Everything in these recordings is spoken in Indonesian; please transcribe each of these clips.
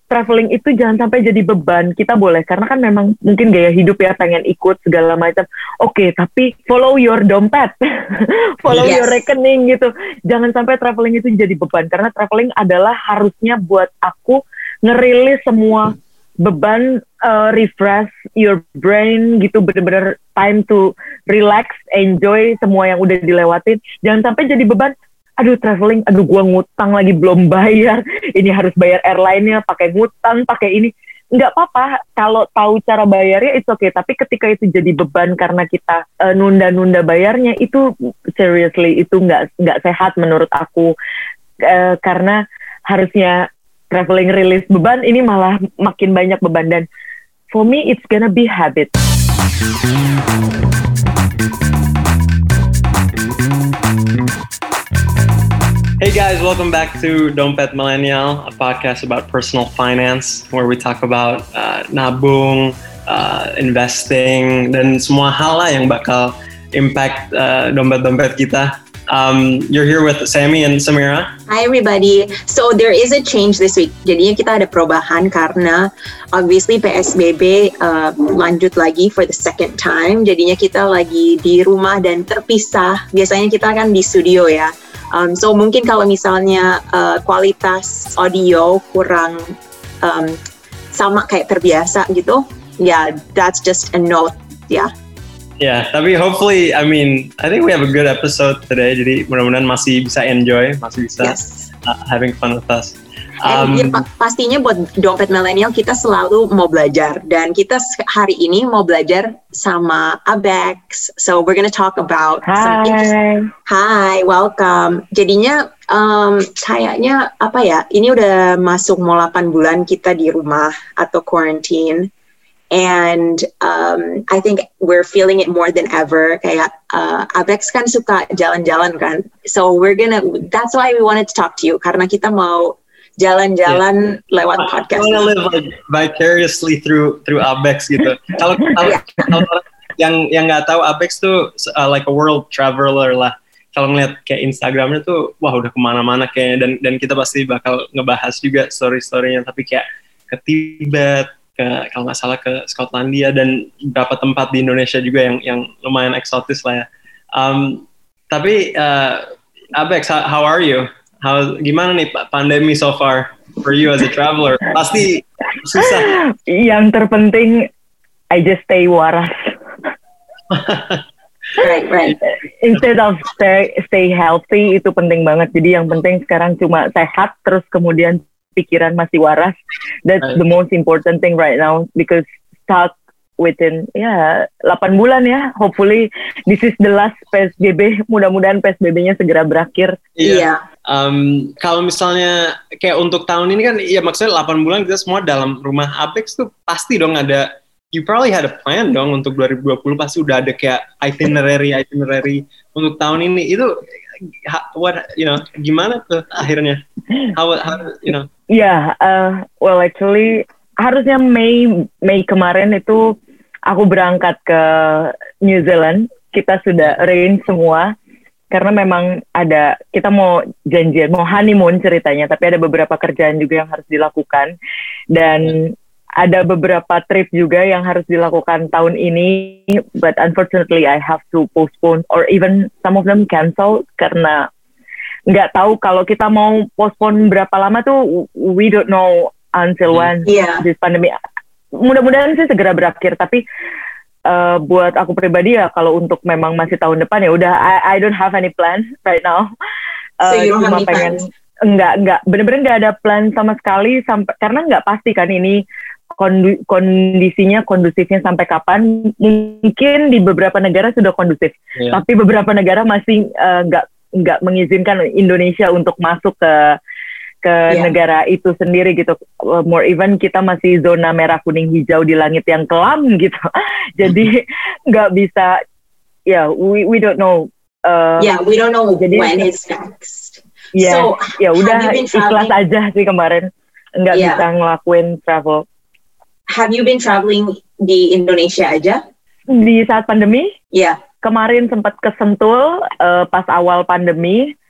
traveling itu jangan sampai jadi beban. Kita boleh, karena kan memang mungkin gaya hidup ya, pengen ikut segala macam. Oke, tapi follow your dompet, follow your rekening gitu. Jangan sampai traveling itu jadi beban, karena traveling adalah harusnya buat aku ngerilis semua beban, refresh your brain gitu, bener-bener time to relax, enjoy semua yang udah dilewatin. Jangan sampai jadi beban. Aduh traveling, gua ngutang lagi belum bayar, ini harus bayar airline-nya, pakai ngutang, pakai ini. Nggak apa-apa, kalau tahu cara bayarnya it's okay, tapi ketika itu jadi beban karena kita nunda-nunda bayarnya, itu seriously, itu nggak sehat menurut aku. Karena harusnya traveling release beban, ini malah makin banyak beban, dan for me it's gonna be habit. Hey guys, welcome back to Dompet Millennial, a podcast about personal finance where we talk about nabung, investing, dan semua hal lah yang bakal impact dompet-dompet kita. You're here with Sammy and Samira. Hi everybody. So there is a change this week. Jadinya kita ada perubahan karena obviously PSBB lanjut lagi for the second time. Jadinya kita lagi di rumah dan terpisah. Biasanya kita kan di studio ya. So mungkin kalau misalnya kualitas audio kurang sama kayak terbiasa gitu, that's just a note, Yeah, tapi hopefully, I think we have a good episode today. Jadi mudah-mudahan masih bisa enjoy, masih bisa having fun with us. Pastinya buat Dompet Millennial kita selalu mau belajar, dan kita hari ini mau belajar sama Abex. So we're gonna talk about Hi, welcome. Jadinya kayaknya apa ya? Ini udah masuk mau 8 bulan kita di rumah atau quarantine. And I think we're feeling it more than ever. Kayak Abex kan suka jalan-jalan kan. So that's why we wanted to talk to you, karena kita mau jalan-jalan lewat podcast. I want to live like vicariously through Abex gitu. Kalau yang nggak tahu, Abex tuh like a world traveler lah. Kalau ngeliat kayak Instagramnya tuh, wah udah kemana-mana kayaknya, dan kita pasti bakal ngebahas juga story-storynya. Tapi kayak ke Tibet, kalau nggak salah ke Skotlandia, dan beberapa tempat di Indonesia juga yang lumayan eksotis lah ya. Tapi Abex, how are you? Gimana nih pandemi so far for you as a traveler? Pasti susah. Yang terpenting, I just stay waras. Right. Instead of stay healthy, itu penting banget. Jadi yang penting sekarang cuma sehat, terus kemudian pikiran masih waras. That's the most important thing right now, because stuck within 8 bulan ya. Hopefully this is the last PSBB. Mudah-mudahan PSBB-nya segera berakhir. Iya. Kalau misalnya kayak untuk tahun ini kan, ya maksudnya 8 bulan kita semua dalam rumah. Abex tuh pasti dong ada, you probably had a plan dong untuk 2020, pasti udah ada kayak itinerary untuk tahun ini. Itu gimana tuh akhirnya? Well actually harusnya Mei kemarin itu aku berangkat ke New Zealand. Kita sudah arrange semua, karena memang kita mau janjian, mau honeymoon ceritanya, tapi ada beberapa kerjaan juga yang harus dilakukan, dan ada beberapa trip juga yang harus dilakukan tahun ini, but unfortunately I have to postpone, or even some of them cancel, karena nggak tahu kalau kita mau postpone berapa lama tuh, we don't know until when this pandemic. Mudah-mudahan sih segera berakhir, tapi buat aku pribadi ya, kalau untuk memang masih tahun depan ya udah, I don't have any plan right now. So you don't have any plans? Enggak, bener-bener nggak ada plan sama sekali, karena nggak pasti kan ini kondusifnya sampai kapan. Mungkin di beberapa negara sudah kondusif, tapi beberapa negara masih nggak mengizinkan Indonesia untuk masuk ke negara itu sendiri gitu. More even kita masih zona merah kuning hijau di langit yang kelam gitu. Jadi nggak bisa. We don't know. We don't know jadi, when it's next. So, udah ikhlas aja sih kemarin. Nggak bisa ngelakuin travel. Have you been traveling di Indonesia aja? Di saat pandemi? Kemarin sempat ke Sentul pas awal pandemi.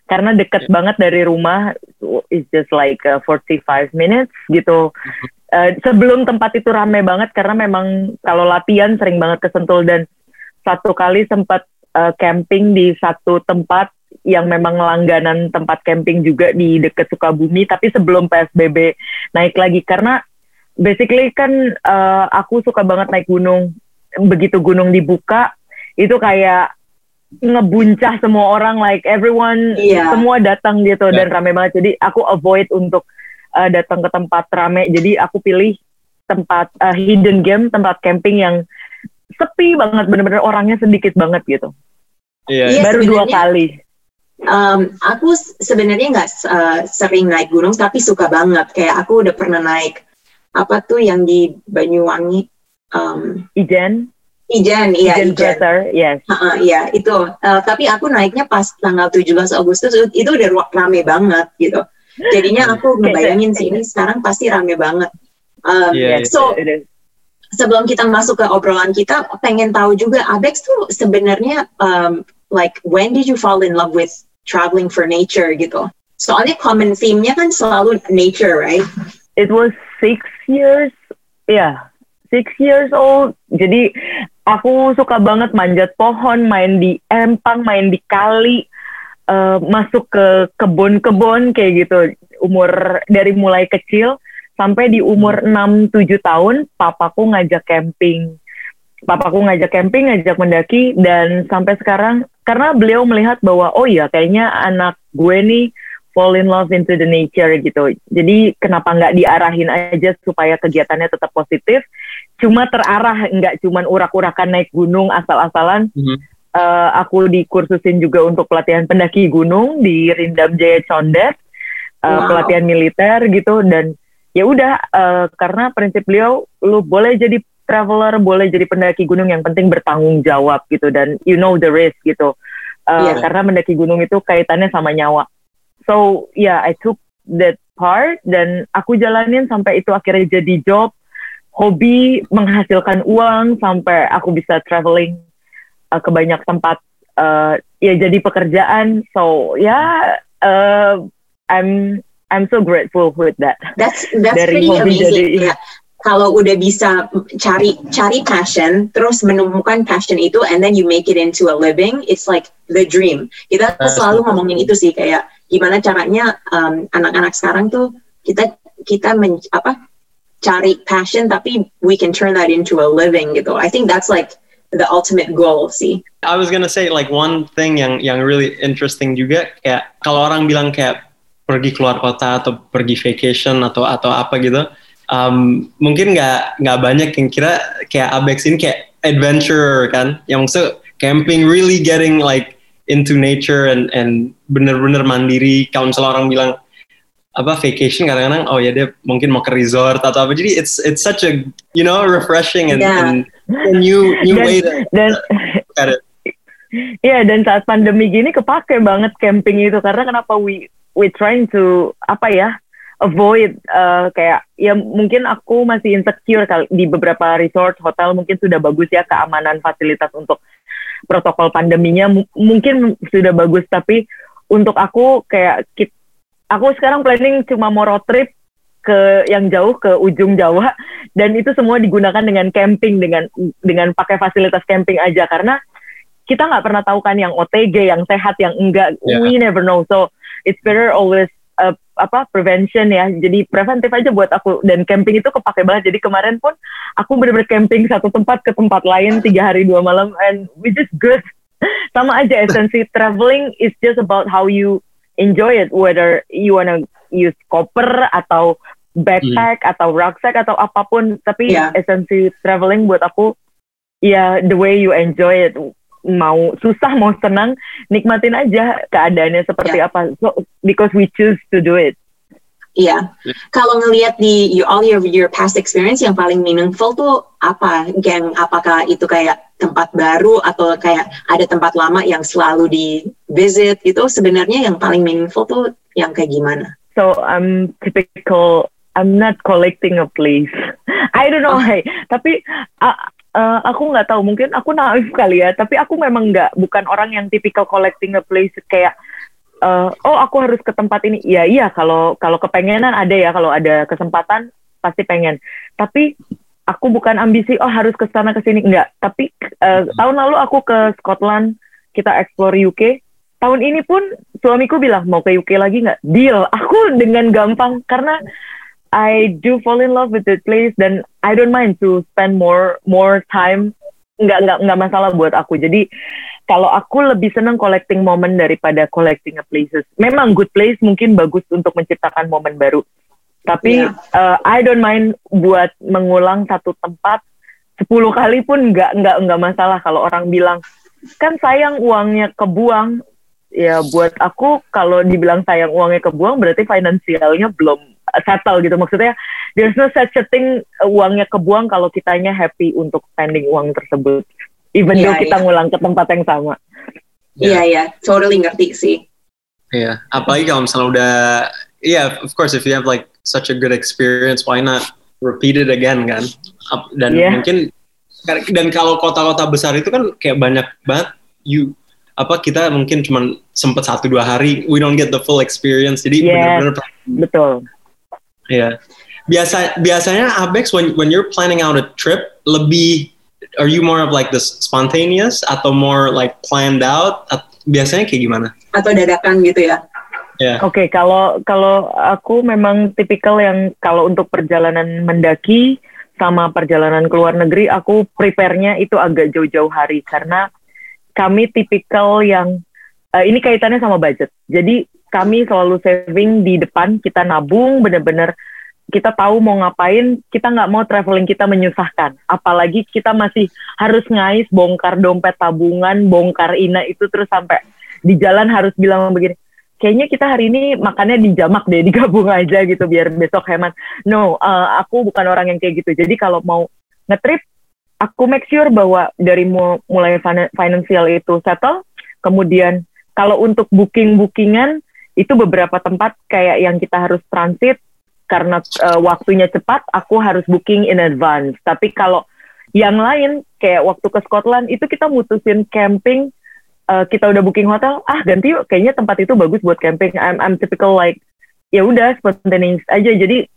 karena deket banget dari rumah, it's just like 45 minutes gitu. Sebelum tempat itu rame banget karena memang kalau latihan sering banget ke Sentul, dan satu kali sempat camping di satu tempat yang memang langganan tempat camping juga di dekat Sukabumi, tapi sebelum PSBB naik lagi, karena basically kan aku suka banget naik gunung. Begitu gunung dibuka itu kayak ngebuncah semua orang, like everyone, semua datang gitu, dan rame banget. Jadi aku avoid untuk datang ke tempat rame, jadi aku pilih tempat hidden game, tempat camping yang sepi banget, bener-bener orangnya sedikit banget gitu. Baru 2 kali. Aku sebenarnya nggak sering naik gunung, tapi suka banget. Kayak aku udah pernah naik apa tuh yang di Banyuwangi, Ijen, Ijen. Crater, yes. Iya itu. Tapi aku naiknya pas tanggal 17 Agustus, itu udah rame banget gitu. Jadinya aku ngebayangin sih ini sekarang pasti rame banget. So sebelum kita masuk ke obrolan kita, pengen tahu juga Abex tuh sebenarnya like when did you fall in love with traveling for nature gitu? Soalnya common theme-nya kan selalu nature, right? It was 6 years, 6 years old. Jadi aku suka banget manjat pohon, main di empang, main di kali, masuk ke kebun-kebun kayak gitu. Dari mulai kecil sampai di umur 6-7 tahun, papaku ngajak camping. Ngajak mendaki, dan sampai sekarang karena beliau melihat bahwa oh iya kayaknya anak gue nih fall in love into the nature gitu. Jadi kenapa nggak diarahin aja supaya kegiatannya tetap positif, cuma terarah, nggak cuman urak-urakan naik gunung asal-asalan. Aku dikursusin juga untuk pelatihan pendaki gunung di Rindam Jaya Condet, pelatihan militer gitu, dan ya udah karena prinsip beliau, lu boleh jadi traveler, boleh jadi pendaki gunung, yang penting bertanggung jawab gitu, dan you know the risk gitu. Karena mendaki gunung itu kaitannya sama nyawa. So I took that part, dan aku jalanin sampai itu akhirnya jadi job, hobi, menghasilkan uang, sampai aku bisa traveling ke banyak tempat, jadi pekerjaan. So I'm so grateful with that. That's pretty amazing. Kalau udah bisa cari passion, terus menemukan passion itu, and then you make it into a living, it's like the dream. Kita selalu ngomongin itu sih, kayak gimana caranya anak-anak sekarang tuh kita cari passion, tapi we can turn that into a living gitu. I think that's like the ultimate goal sih. I was gonna say like one thing yang really interesting juga, kayak kalau orang bilang kayak pergi keluar kota atau pergi vacation atau apa gitu. Mungkin nggak banyak yang kira kayak Abex ini kayak adventure kan, yang maksud camping, really getting like into nature and bener-bener mandiri. Kalau misalnya orang bilang vacation, kadang-kadang oh ya dia mungkin mau ke resort atau apa, jadi it's such a refreshing and new way to look at it. Dan saat pandemi gini kepake banget camping itu, karena kenapa we trying to avoid kayak mungkin aku masih insecure di beberapa resort hotel, mungkin sudah bagus ya keamanan fasilitas untuk protokol pandeminya, mungkin sudah bagus, tapi untuk aku kayak aku sekarang planning cuma mau road trip ke yang jauh, ke ujung Jawa, dan itu semua digunakan dengan camping, dengan pakai fasilitas camping aja, karena kita nggak pernah tahu kan yang OTG, yang sehat, yang enggak, we never know, so it's better always prevention ya, jadi preventif aja buat aku, dan camping itu kepake banget. Jadi kemarin pun aku bener-bener camping satu tempat ke tempat lain 3 hari 2 malam, and which is good. Sama aja, esensi traveling is just about how you enjoy it, whether you wanna use koper atau backpack atau rucksack atau apapun, tapi esensi traveling buat aku the way you enjoy it. Mau susah mau senang, nikmatin aja keadaannya seperti apa. So because we choose to do it. Kalau ngelihat di all your past experience, yang paling meaningful tuh apa, Geng? Apakah itu kayak tempat baru atau kayak ada tempat lama yang selalu di visit itu? Sebenarnya yang paling meaningful tuh yang kayak gimana? So I'm not collecting a place. I don't know, tapi aku nggak tahu, mungkin aku naif kali ya, tapi aku memang bukan orang yang typical collecting a place, kayak oh aku harus ke tempat ini. Iya kalau kepengenan ada ya, kalau ada kesempatan pasti pengen. Tapi aku bukan ambisi harus ke sana ke sini, enggak. Tapi tahun lalu aku ke Scotland, kita explore UK. Tahun ini pun suamiku bilang mau ke UK lagi nggak? Deal. Aku dengan gampang karena I do fall in love with the place dan I don't mind to spend more time. Nggak masalah buat aku. Jadi kalau aku lebih senang collecting moment daripada collecting a places. Memang good place mungkin bagus untuk menciptakan momen baru. Tapi I don't mind buat mengulang satu tempat 10 kali pun nggak masalah. Kalau orang bilang kan sayang uangnya kebuang, ya buat aku kalau dibilang sayang uangnya kebuang berarti finansialnya belum settle gitu. Maksudnya there's no such a thing uangnya kebuang kalau kitanya happy untuk spending uang tersebut. Even though kita ngulang ke tempat yang sama. Iya, totally ngerti sih. Iya, apalagi kalau misalnya udah, of course if you have like such a good experience, why not repeat it again kan? Dan mungkin, dan kalau kota-kota besar itu kan kayak banyak banget, kita mungkin cuma sempet 1-2 hari, we don't get the full experience, jadi benar-benar. Betul. Iya. Biasanya Abex when you're planning out a trip are you more of like this spontaneous atau more like planned out? Biasanya kayak gimana? Atau dadakan gitu ya? Oke, kalau aku memang tipikal yang kalau untuk perjalanan mendaki sama perjalanan ke luar negeri, aku prepare-nya itu agak jauh-jauh hari karena kami tipikal yang ini kaitannya sama budget. Jadi kami selalu saving di depan, kita nabung benar-benar. Kita tahu mau ngapain, kita nggak mau traveling kita menyusahkan. Apalagi kita masih harus ngais, bongkar dompet tabungan, bongkar ina itu terus sampai di jalan harus bilang begini, kayaknya kita hari ini makannya di jamak deh, digabung aja gitu biar besok hemat. No, aku bukan orang yang kayak gitu. Jadi kalau mau ngetrip, aku make sure bahwa dari mulai financial itu settle, kemudian kalau untuk bookingan, itu beberapa tempat kayak yang kita harus transit, karena waktunya cepat, aku harus booking in advance. Tapi kalau yang lain, kayak waktu ke Scotland, itu kita mutusin camping, kita udah booking hotel, ganti yuk, kayaknya tempat itu bagus buat camping. I'm typical like, ya udah spontaneous aja. Jadi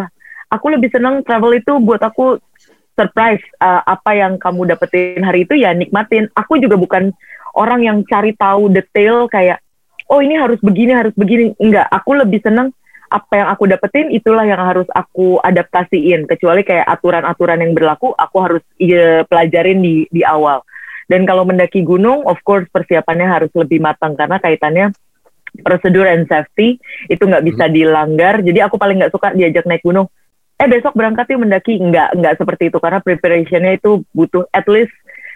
aku lebih senang travel itu buat aku surprise. Apa yang kamu dapetin hari itu ya nikmatin. Aku juga bukan orang yang cari tahu detail kayak, oh ini harus begini. Enggak, aku lebih senang apa yang aku dapetin itulah yang harus aku adaptasiin. Kecuali kayak aturan-aturan yang berlaku, aku harus pelajarin di awal. Dan kalau mendaki gunung, of course persiapannya harus lebih matang karena kaitannya prosedur and safety itu nggak bisa dilanggar. Jadi aku paling nggak suka diajak naik gunung. Besok berangkat yuk mendaki. Nggak seperti itu karena preparationnya itu butuh at least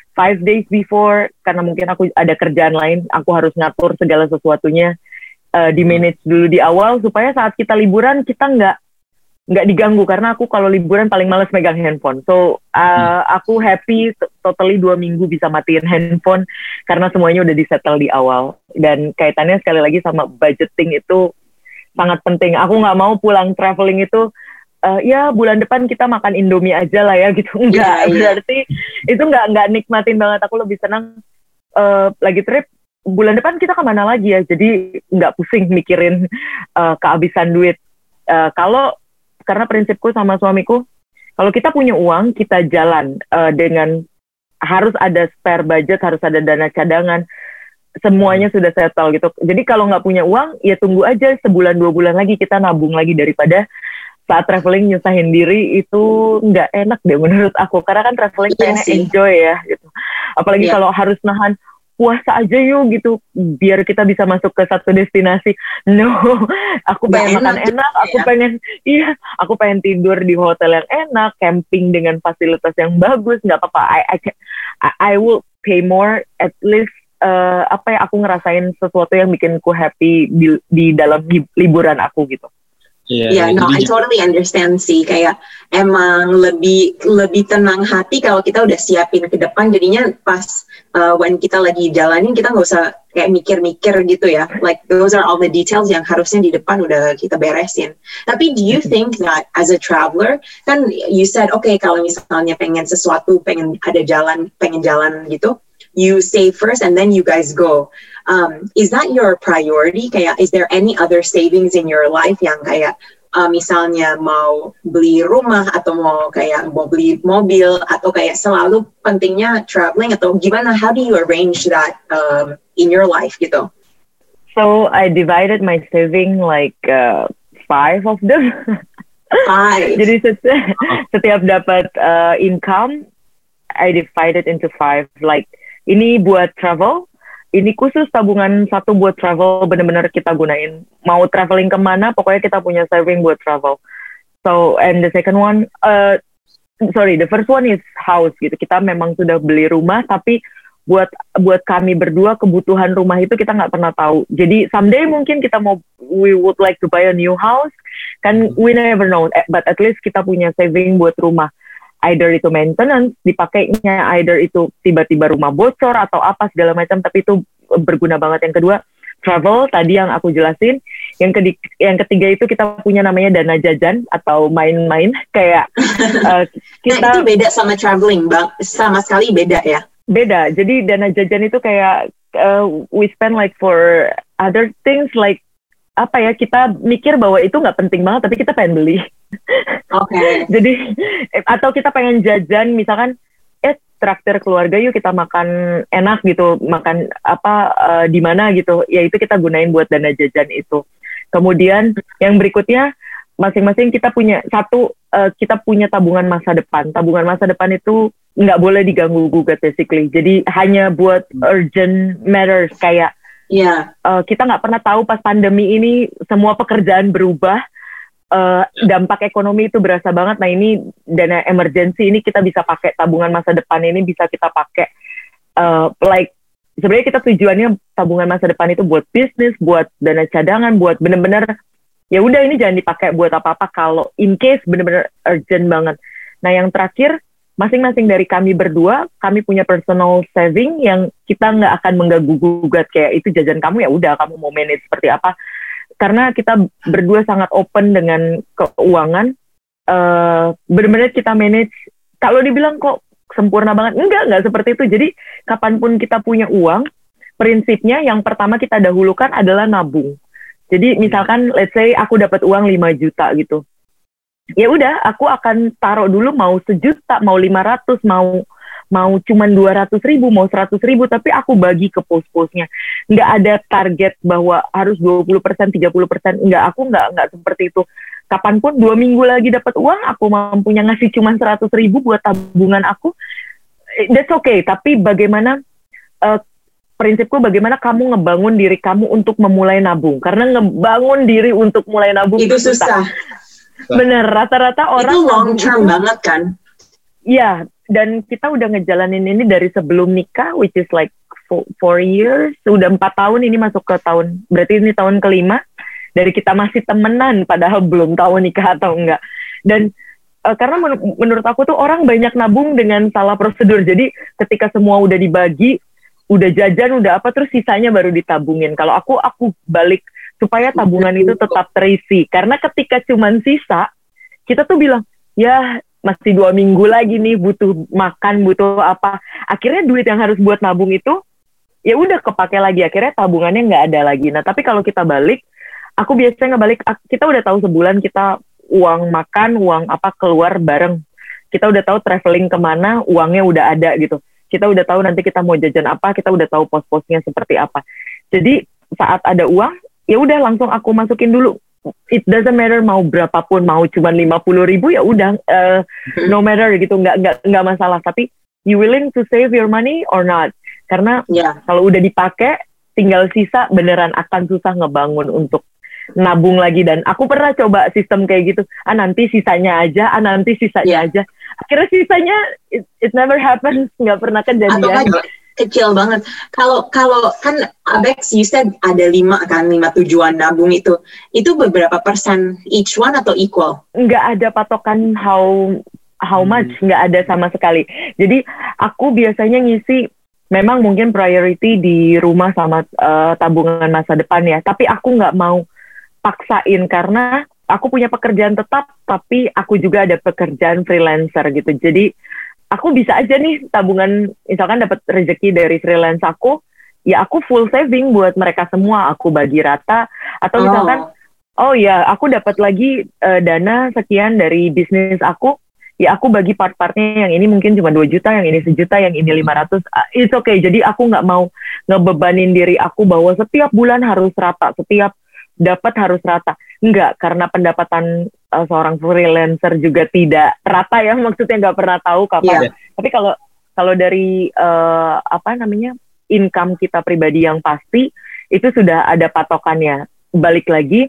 5 days before. Karena mungkin aku ada kerjaan lain, aku harus ngatur segala sesuatunya. Di manage dulu di awal supaya saat kita liburan kita nggak diganggu karena aku kalau liburan paling males megang handphone. So aku happy totally 2 minggu bisa matiin handphone karena semuanya udah disettle di awal. Dan kaitannya sekali lagi sama budgeting itu sangat penting. Aku nggak mau pulang traveling itu ya bulan depan kita makan Indomie aja lah ya gitu. Enggak, berarti itu nggak nikmatin banget. Aku lebih senang lagi trip bulan depan kita kemana lagi ya, jadi nggak pusing mikirin kehabisan duit. Karena prinsipku sama suamiku, kalau kita punya uang, kita jalan dengan harus ada spare budget, harus ada dana cadangan, semuanya sudah settle gitu. Jadi kalau nggak punya uang, ya tunggu aja sebulan 2 bulan lagi kita nabung lagi daripada saat traveling nyusahin diri itu nggak enak deh menurut aku. Karena kan traveling pengennya enjoy ya gitu. Apalagi kalau harus nahan puasa aja yuk gitu biar kita bisa masuk ke satu destinasi. No, aku pengen makan enak, aku pengen tidur di hotel yang enak, camping dengan fasilitas yang bagus, nggak apa-apa. I will pay more at least aku ngerasain sesuatu yang bikin ku happy di dalam liburan aku gitu. I totally understand sih. Kayak emang lebih tenang hati kalau kita udah siapin ke depan. Jadinya pas when kita lagi jalanin kita nggak usah kayak mikir-mikir gitu ya. Like those are all the details yang harusnya di depan udah kita beresin. Tapi do you think that as a traveler, kan you said okay kalau misalnya pengen sesuatu, pengen jalan gitu. you save first and then you guys go. Is that your priority? Kayak, is there any other savings in your life yang kayak misalnya mau beli rumah atau mau beli mobil atau kayak selalu pentingnya traveling atau gimana? How do you arrange that in your life gitu? So I divided my saving like 5 of them. 5. Jadi setiap dapat income, I divided into 5. Like ini buat travel. Ini khusus tabungan 1 buat travel, benar-benar kita gunain. Mau traveling kemana, pokoknya kita punya saving buat travel. So, and the second one, the first one is house gitu. Kita memang sudah beli rumah, tapi buat kami berdua kebutuhan rumah itu kita nggak pernah tahu. Jadi someday mungkin we would like to buy a new house, kan we never know. But at least kita punya saving buat rumah. Either itu maintenance dipakainya, either itu tiba-tiba rumah bocor atau apa segala macam, tapi itu berguna banget. Yang kedua, travel tadi yang aku jelasin. Yang ketiga itu kita punya namanya dana jajan atau main-main kayak kita. Nah, itu beda sama traveling, Bang. Sama sekali beda ya. Beda. Jadi dana jajan itu kayak we spend like for other things like apa ya, kita mikir bahwa itu nggak penting banget tapi kita pengen beli. Okay. Jadi atau kita pengen jajan misalkan traktir keluarga yuk kita makan enak gitu, makan apa di mana gitu, ya itu kita gunain buat dana jajan itu. Kemudian yang berikutnya masing-masing kita punya kita punya tabungan masa depan. Tabungan masa depan itu nggak boleh diganggu gugat basically. Jadi hanya buat urgent matters kayak kita nggak pernah tahu pas pandemi ini semua pekerjaan berubah, dampak ekonomi itu berasa banget. Nah ini dana emergency ini kita bisa pakai, tabungan masa depan ini bisa kita pakai. Sebenarnya kita tujuannya tabungan masa depan itu buat bisnis, buat dana cadangan, buat bener-bener ya udah ini jangan dipakai buat apa-apa kalau in case bener-bener urgent banget. Nah yang terakhir, masing-masing dari kami berdua, kami punya personal saving yang kita nggak akan mengganggu-gugat kayak itu jajan kamu, ya udah kamu mau manage seperti apa. Karena kita berdua sangat open dengan keuangan, benar-benar kita manage. Kalau dibilang kok sempurna banget, enggak seperti itu. Jadi kapanpun kita punya uang, prinsipnya yang pertama kita dahulukan adalah nabung. Jadi misalkan let's say aku dapat uang 5 juta gitu. Ya udah, aku akan taruh dulu mau 1 juta, mau 500, mau cuman 200.000, mau 100.000, tapi aku bagi ke pos-posnya. Nggak ada target bahwa harus 20%, 30%. Aku nggak seperti itu. Kapanpun 2 minggu lagi dapat uang, aku mampunya ngasih cuman 100.000 buat tabungan aku, that's okay. Tapi bagaimana, prinsipku bagaimana kamu ngebangun diri kamu untuk memulai nabung. Karena ngebangun diri untuk mulai nabung itu susah. Bener, rata-rata orang itu long term banget kan? Iya, dan kita udah ngejalanin ini dari sebelum nikah, which is like 4 years, udah 4 tahun ini masuk ke tahun, berarti ini tahun kelima, dari kita masih temenan, padahal belum tahu nikah atau enggak. Dan karena menurut aku tuh orang banyak nabung dengan salah prosedur, jadi ketika semua udah dibagi, udah jajan, udah apa, terus sisanya baru ditabungin. Kalau aku balik, supaya tabungan itu tetap terisi. Karena ketika cuman sisa, kita tuh bilang, ya masih 2 minggu lagi nih, butuh makan, butuh apa. Akhirnya duit yang harus buat nabung itu, ya udah kepake lagi. Akhirnya tabungannya nggak ada lagi. Nah, tapi kalau kita balik, aku biasanya ngebalik, kita udah tahu sebulan kita uang makan, uang apa keluar bareng. Kita udah tahu traveling kemana, uangnya udah ada gitu. Kita udah tahu nanti kita mau jajan apa, kita udah tahu pos-posnya seperti apa. Jadi saat ada uang, ya udah langsung aku masukin dulu. It doesn't matter mau berapapun, mau cuma 50.000 ya udah, no matter gitu, nggak masalah. Tapi you willing to save your money or not? Karena kalau udah dipakai, tinggal sisa beneran akan susah ngebangun untuk nabung lagi. Dan aku pernah coba sistem kayak gitu, nanti sisanya aja, aja. Akhirnya sisanya it never happens, nggak pernah kejadian. Kecil banget. Kalau kan Abex, you said ada 5 tujuan nabung itu beberapa persen each one atau equal? Nggak ada patokan how much, nggak ada sama sekali. Jadi aku biasanya ngisi, memang mungkin priority di rumah sama tabungan masa depan ya, tapi aku nggak mau paksain karena aku punya pekerjaan tetap, tapi aku juga ada pekerjaan freelancer gitu. Jadi aku bisa aja nih tabungan, misalkan dapat rezeki dari freelance aku, ya aku full saving buat mereka semua, aku bagi rata. Atau misalkan oh ya aku dapat lagi dana sekian dari bisnis aku, ya aku bagi part-partnya, yang ini mungkin cuma 2 juta, yang ini 1 juta, yang ini 500. It's okay. Jadi aku nggak mau ngebebanin diri aku bahwa setiap bulan harus rata, setiap dapat harus rata. Enggak, karena pendapatan seorang freelancer juga tidak rata ya, maksudnya nggak pernah tahu kapan. Tapi kalau dari income kita pribadi yang pasti, itu sudah ada patokannya. Balik lagi,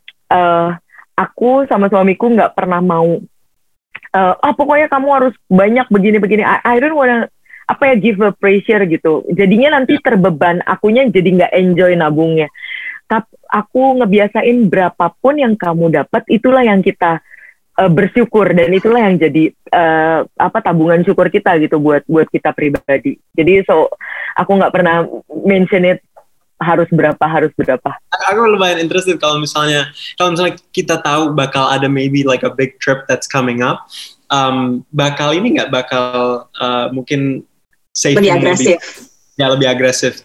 aku sama suamiku nggak pernah mau pokoknya kamu harus banyak begini-begini. I don't wanna give a pressure gitu. Jadinya nanti terbeban, akunya jadi nggak enjoy nabungnya. Tapi aku ngebiasain berapapun yang kamu dapat, itulah yang kita bersyukur, dan itulah yang jadi tabungan syukur kita gitu buat kita pribadi. Jadi aku nggak pernah mention it harus berapa. Aku lumayan interested kalau misalnya kita tahu bakal ada maybe like a big trip that's coming up, bakal mungkin saving lebih agresif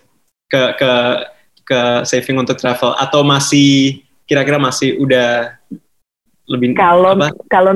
ke saving untuk travel, atau masih kira-kira masih udah lebih kalau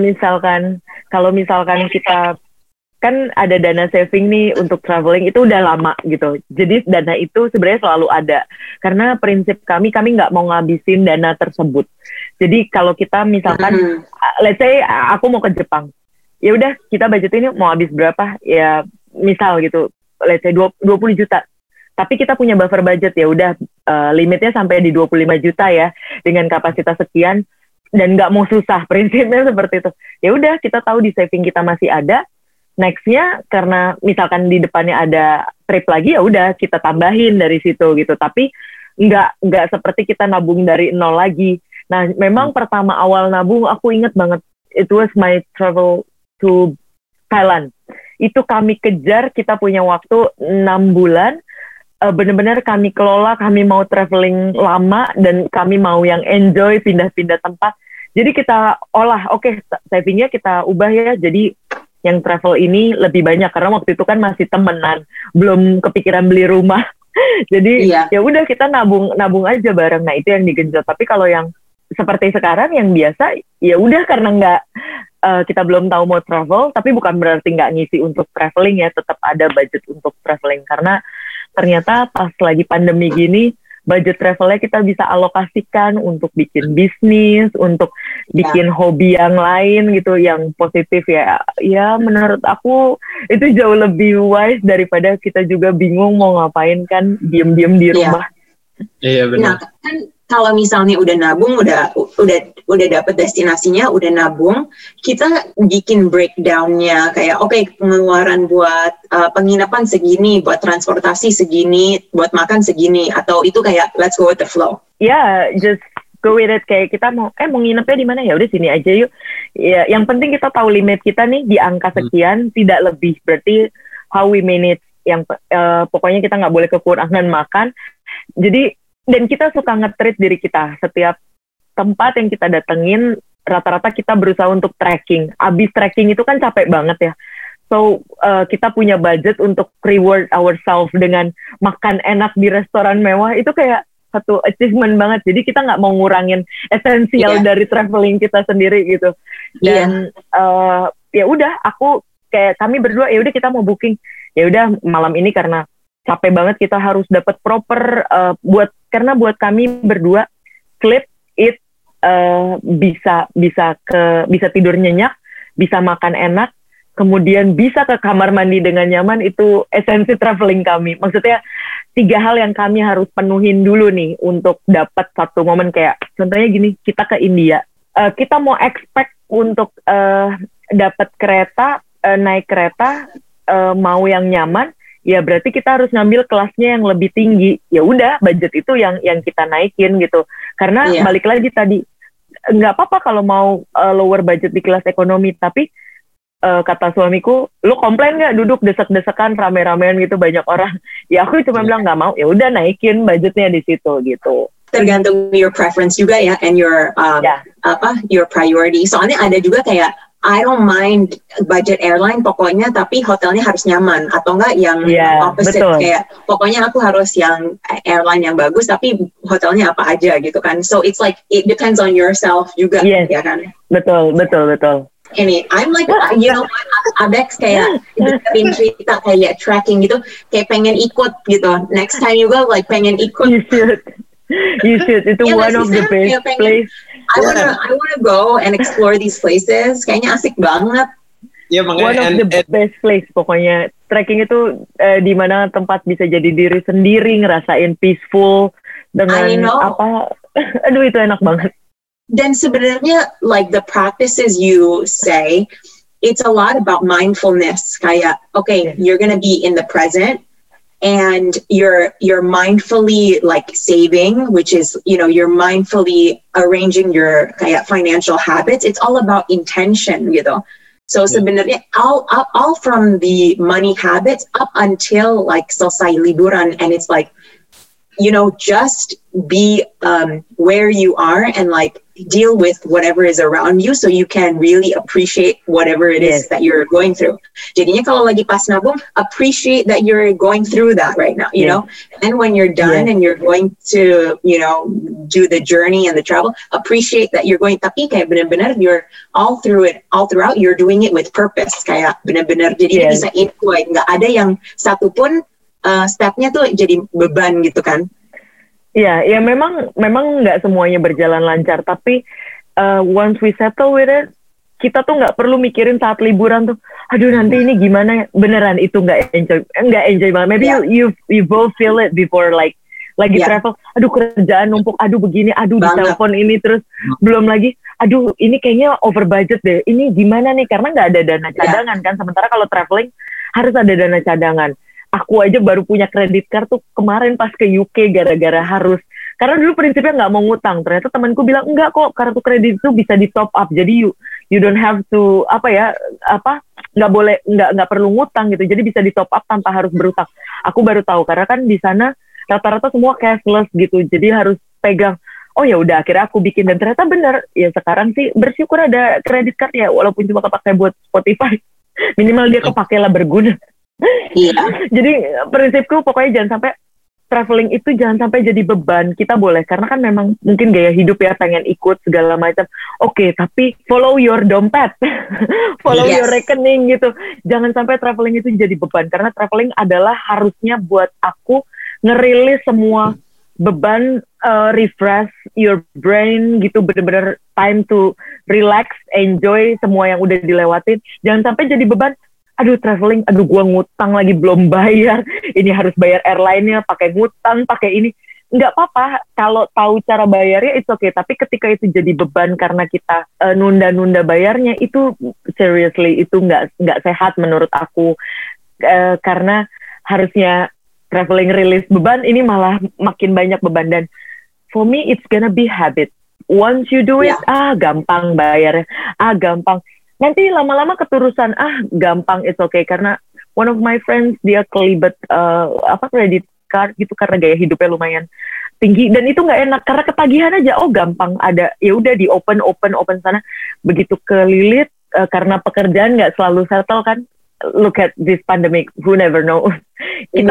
misalkan kita kan ada dana saving nih untuk traveling, itu udah lama gitu. Jadi dana itu sebenarnya selalu ada. Karena prinsip kami nggak mau ngabisin dana tersebut. Jadi kalau kita misalkan, let's say aku mau ke Jepang, ya udah kita budget ini mau habis berapa? Ya misal gitu, let's say 20 juta. Tapi kita punya buffer budget, ya udah limitnya sampai di 25 juta ya, dengan kapasitas sekian, dan nggak mau susah, prinsipnya seperti itu. Ya udah kita tahu di saving kita masih ada. Nextnya karena misalkan di depannya ada trip lagi, ya udah kita tambahin dari situ gitu. Tapi nggak seperti kita nabung dari nol lagi. Nah memang pertama awal nabung aku inget banget, it was my travel to Thailand. Itu kami kejar, kita punya waktu 6 bulan. Benar-benar kami kelola, kami mau traveling lama dan kami mau yang enjoy, pindah-pindah tempat. Jadi kita olah, savingnya kita ubah ya, jadi yang travel ini lebih banyak, karena waktu itu kan masih temenan, belum kepikiran beli rumah. Jadi ya udah kita nabung aja bareng. Nah itu yang digenjot. Tapi kalau yang seperti sekarang yang biasa, ya udah karena kita belum tahu mau travel, tapi bukan berarti nggak ngisi untuk traveling ya, tetap ada budget untuk traveling, karena ternyata pas lagi pandemi gini, budget travelnya kita bisa alokasikan untuk bikin bisnis, untuk bikin hobi yang lain gitu, yang positif ya. Ya menurut aku itu jauh lebih wise daripada kita juga bingung mau ngapain kan, diem-diem di rumah. Iya benar. Nah kan kalau misalnya udah nabung, udah dapet destinasinya, udah nabung, kita bikin breakdownnya kayak pengeluaran buat penginapan segini, buat transportasi segini, buat makan segini, atau itu kayak let's go with the flow. Just go with it. Kayak kita mau nginepnya di mana, ya udah sini aja yuk. Ya, yang penting kita tahu limit kita nih di angka sekian, tidak lebih. Berarti how we manage, yang pokoknya kita nggak boleh kekurangan makan. Jadi dan kita suka nge-treat diri kita. Setiap tempat yang kita datengin, rata-rata kita berusaha untuk tracking. Abis tracking itu kan capek banget ya. So, kita punya budget untuk reward ourselves dengan makan enak di restoran mewah. Itu kayak satu achievement banget. Jadi kita nggak mau ngurangin esensial dari traveling kita sendiri gitu. Dan ya udah, kami berdua, ya udah kita mau booking. Ya udah malam ini karena capek banget, kita harus dapat proper karena buat kami berdua sleep it bisa tidur nyenyak, bisa makan enak, kemudian bisa ke kamar mandi dengan nyaman. Itu esensi traveling kami. Maksudnya 3 hal yang kami harus penuhin dulu nih untuk dapat satu momen. Kayak contohnya gini, kita ke India, kita mau expect untuk dapat kereta, naik kereta, mau yang nyaman, ya berarti kita harus ngambil kelasnya yang lebih tinggi. Ya udah, budget itu yang kita naikin gitu. Karena balik lagi tadi, nggak apa-apa kalau mau lower budget di kelas ekonomi, tapi kata suamiku, lu komplain nggak duduk desek-desekan rame-ramean gitu banyak orang? Ya aku cuma bilang nggak mau. Ya udah, naikin budgetnya di situ gitu. Tergantung your preference juga ya, and your your priority. Soalnya ada juga kayak I don't mind budget airline pokoknya, tapi hotelnya harus nyaman, atau enggak yang opposite, betul. kayak pokoknya aku harus yang airline yang bagus tapi hotelnya apa aja gitu kan. So it's like it depends on yourself juga, ya kan. Betul. Ini I'm like, you know, Abex kayak dengerin cerita kayak tracking gitu, kayak pengen ikut gitu. Next time you go, like pengen ikut. You should. Itu one of the best place. I wanna go and explore these places. Kayaknya asik banget. Ya, one of the best place pokoknya. Trekking itu di mana tempat bisa jadi diri sendiri, ngerasain peaceful dengan apa. Aduh, itu enak banget. Dan sebenarnya like the practices you say, it's a lot about mindfulness. Kayak, okay, you're gonna be in the present. And you're mindfully like saving, which is, you know, you're mindfully arranging your kayak financial habits. It's all about intention gitu. So sebenarnya all from the money habits up until like selesai liburan, and it's like, you know, just be where you are and like deal with whatever is around you so you can really appreciate whatever it is that you're going through. Jadinya kalau lagi pas nabung, appreciate that you're going through that right now, you know? And then when you're done and you're going to, you know, do the journey and the travel, appreciate that you're going, tapi kayak benar-benar you're all throughout, you're doing it with purpose. Kayak benar-benar, jadi bisa enjoy. Nggak ada yang satu pun stepnya tuh jadi beban gitu kan. Ya memang nggak semuanya berjalan lancar, tapi once we settle with it, kita tuh nggak perlu mikirin saat liburan tuh, aduh nanti ini gimana, beneran itu nggak enjoy banget. Maybe you both feel it before like lagi travel, aduh kerjaan numpuk, aduh begini, aduh di telepon ini terus, belum lagi, aduh ini kayaknya over budget deh, ini gimana nih, karena nggak ada dana cadangan kan, sementara kalau traveling harus ada dana cadangan. Aku aja baru punya kredit card tuh kemarin pas ke UK gara-gara harus, karena dulu prinsipnya nggak mau ngutang, ternyata temanku bilang enggak kok, kartu kredit itu bisa di top up, jadi you don't have to nggak perlu ngutang gitu, jadi bisa di top up tanpa harus berutang. Aku baru tahu karena kan di sana rata-rata semua cashless gitu, jadi harus pegang. Oh ya udah, akhirnya aku bikin dan ternyata bener. Ya sekarang sih bersyukur ada kredit card ya, walaupun cuma kepakai buat Spotify, minimal dia kepakai lah, berguna. Jadi prinsipku pokoknya jangan sampai traveling itu jangan sampai jadi beban. Kita boleh, karena kan memang mungkin gaya hidup ya, pengen ikut segala macam. Oke, tapi follow your dompet, follow your rekening gitu. Jangan sampai traveling itu jadi beban, karena traveling adalah harusnya buat aku ngerilis semua beban, refresh your brain gitu, bener-bener time to relax, enjoy semua yang udah dilewatin. Jangan sampai jadi beban. Aduh traveling, aduh gua ngutang lagi belum bayar, ini harus bayar airline-nya, pakai ngutang, pakai ini. Nggak apa-apa, kalau tahu cara bayarnya it's okay, tapi ketika itu jadi beban karena kita nunda-nunda bayarnya, itu seriously, itu nggak sehat menurut aku. Karena harusnya traveling release beban, ini malah makin banyak beban. Dan for me it's gonna be habit. Once you do it, gampang bayarnya, gampang. Nanti lama-lama keterusan, gampang, it's okay. Karena one of my friends, dia kelibet credit card gitu, karena gaya hidupnya lumayan tinggi, dan itu nggak enak, karena ketagihan aja, gampang ada, ya udah di open sana, begitu kelilit, karena pekerjaan nggak selalu settle kan. Look at this pandemic, who never knows. Kita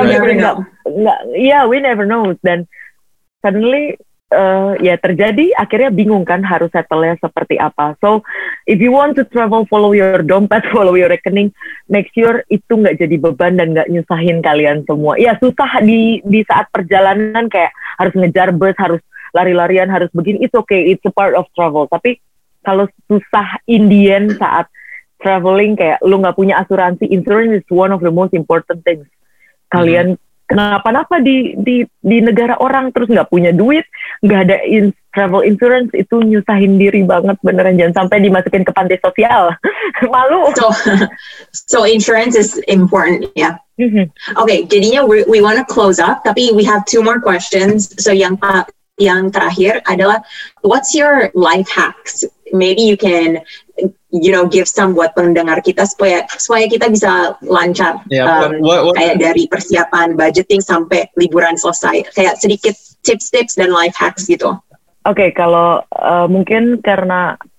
we never knows, dan suddenly terjadi, akhirnya bingung kan harus settle-nya seperti apa. So if you want to travel, follow your dompet, follow your rekening, make sure itu nggak jadi beban dan nggak nyusahin kalian semua. Ya susah di saat perjalanan, kayak harus ngejar bus, harus lari-larian, harus begini, it's okay, it's a part of travel. Tapi kalau susah Indian saat traveling, kayak lu nggak punya asuransi, insurance is one of the most important things. Kalian kenapa-napa di negara orang terus nggak punya duit, nggak ada travel insurance, itu nyusahin diri banget beneran. Jangan sampai dimasukin ke panti sosial. Malu. So insurance is important, ya. Okay, jadinya we want to close up, tapi we have 2 more questions. So yang terakhir adalah, what's your life hacks? Maybe you can, you know, give some buat pendengar kita supaya kita bisa lancar, kayak dari persiapan budgeting sampai liburan selesai, kayak sedikit tips dan life hacks gitu. Oke, kalau mungkin karena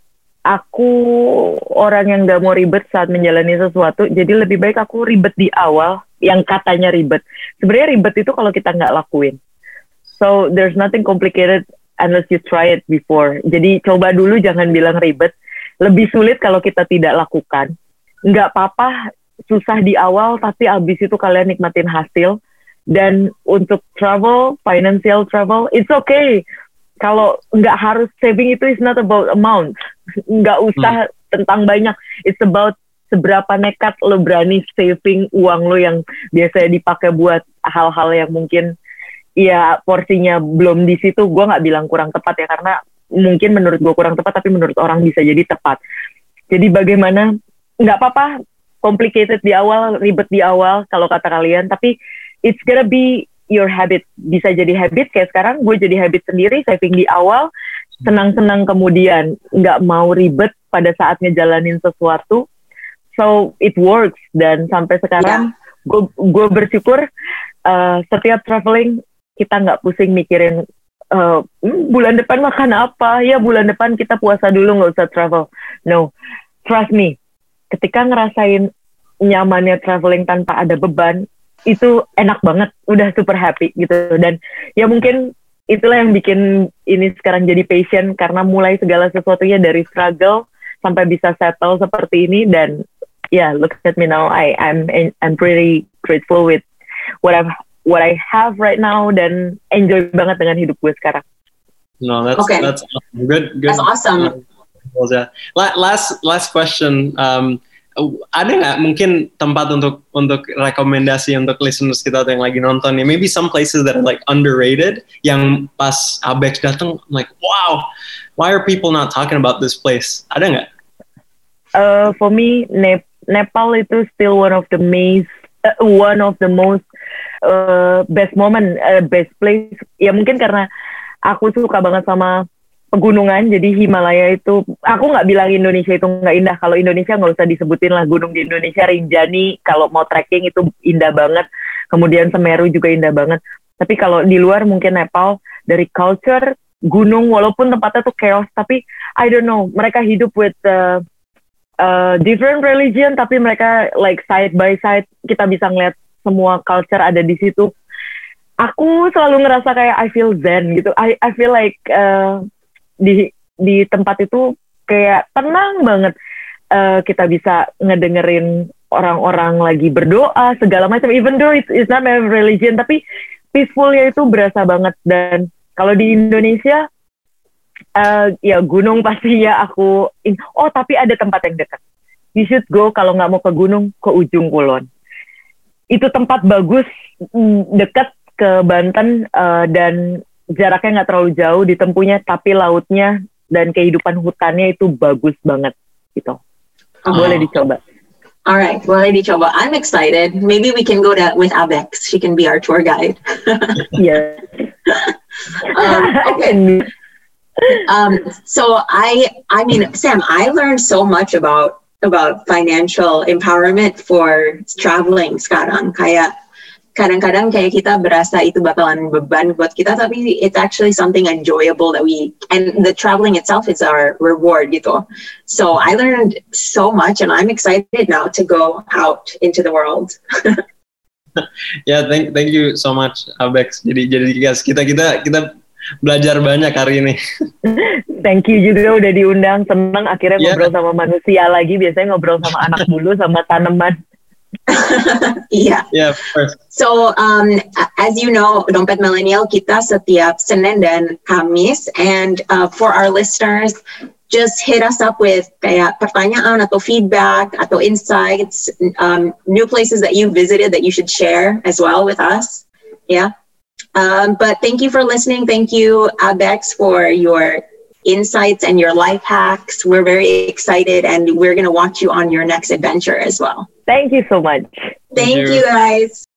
aku orang yang nggak mau ribet saat menjalani sesuatu, jadi lebih baik aku ribet di awal, yang katanya ribet. Sebenarnya ribet itu kalau kita nggak lakuin. So, there's nothing complicated unless you try it before. Jadi, coba dulu, jangan bilang ribet. Lebih sulit kalau kita tidak lakukan. Nggak apa-apa, susah di awal, tapi abis itu kalian nikmatin hasil. Dan untuk travel, financial travel, it's okay. Kalau nggak harus saving itu is not about amount. Nggak usah tentang banyak. It's about seberapa nekat lo berani saving uang lo yang biasanya dipakai buat hal-hal yang mungkin ya porsinya belum di situ. Gue nggak bilang kurang tepat ya, karena mungkin menurut gue kurang tepat, tapi menurut orang bisa jadi tepat. Jadi bagaimana, nggak apa-apa complicated di awal, ribet di awal kalau kata kalian, tapi it's gonna be your habit. Bisa jadi habit, kayak sekarang gue jadi habit sendiri, saving di awal, senang-senang kemudian, nggak mau ribet pada saat ngejalanin sesuatu. So it works. Dan sampai sekarang gue bersyukur setiap traveling kita nggak pusing mikirin bulan depan makan apa, ya bulan depan kita puasa dulu, nggak usah travel. No, trust me, ketika ngerasain nyamannya traveling tanpa ada beban, itu enak banget, udah super happy gitu. Dan ya mungkin itulah yang bikin ini sekarang jadi passion, karena mulai segala sesuatunya dari struggle sampai bisa settle seperti ini. Dan look at me now, I'm pretty grateful with what I have right now, dan enjoy banget dengan hidup gue sekarang. No, that's awesome. Good. That's awesome. Last question. Ada nggak mungkin tempat untuk rekomendasi untuk listeners kita atau yang lagi nonton nih? Maybe some places that are like underrated, yang pas Abex datang, like wow, why are people not talking about this place? Ada nggak? For me, Nepal itu still one of the most best moment, best place. Ya mungkin karena aku suka banget sama pegunungan, jadi Himalaya itu, aku nggak bilang Indonesia itu nggak indah. Kalau Indonesia nggak usah disebutin lah, gunung di Indonesia, Rinjani, kalau mau trekking itu indah banget. Kemudian Semeru juga indah banget. Tapi kalau di luar mungkin Nepal, dari culture, gunung, walaupun tempatnya tuh chaos, tapi I don't know, mereka hidup with different religion, tapi mereka like side by side, kita bisa ngeliat semua culture ada di situ. Aku selalu ngerasa kayak I feel zen gitu. I feel like di tempat itu kayak tenang banget. Kita bisa ngedengerin orang-orang lagi berdoa segala macam. Even though it's not my religion, tapi peacefulnya itu berasa banget. Dan kalau di Indonesia, ya gunung pastinya aku. Tapi ada tempat yang dekat. You should go kalau nggak mau ke gunung, ke Ujung Kulon. Itu tempat bagus, dekat ke Banten, dan jaraknya nggak terlalu jauh ditempuhnya, tapi lautnya dan kehidupan hutannya itu bagus banget gitu. Boleh dicoba. Alright, boleh dicoba. I'm excited. Maybe we can go with Abex. She can be our tour guide. Yeah. Okay. So I mean, Sam, I learned so much about financial empowerment for traveling sekarang. Kayak kadang-kadang kayak kita berasa itu bakalan beban buat kita, tapi it's actually something enjoyable and the traveling itself is our reward gitu. So I learned so much, and I'm excited now to go out into the world. Thank you so much, Abex. Jadi guys, kita belajar banyak hari ini. Thank you juga udah diundang. Senang akhirnya ngobrol sama manusia lagi. Biasanya ngobrol sama anak dulu, sama tanaman. Yeah, of course. So, as you know, Dompet Millennial kita setiap Senin dan Kamis, and for our listeners, just hit us up with kayak pertanyaan atau feedback atau insights, new places that you visited that you should share as well with us. Yeah. But thank you for listening. Thank you, Abex, for your insights and your life hacks. We're very excited, and we're going to watch you on your next adventure as well. Thank you so much. Thank you, guys.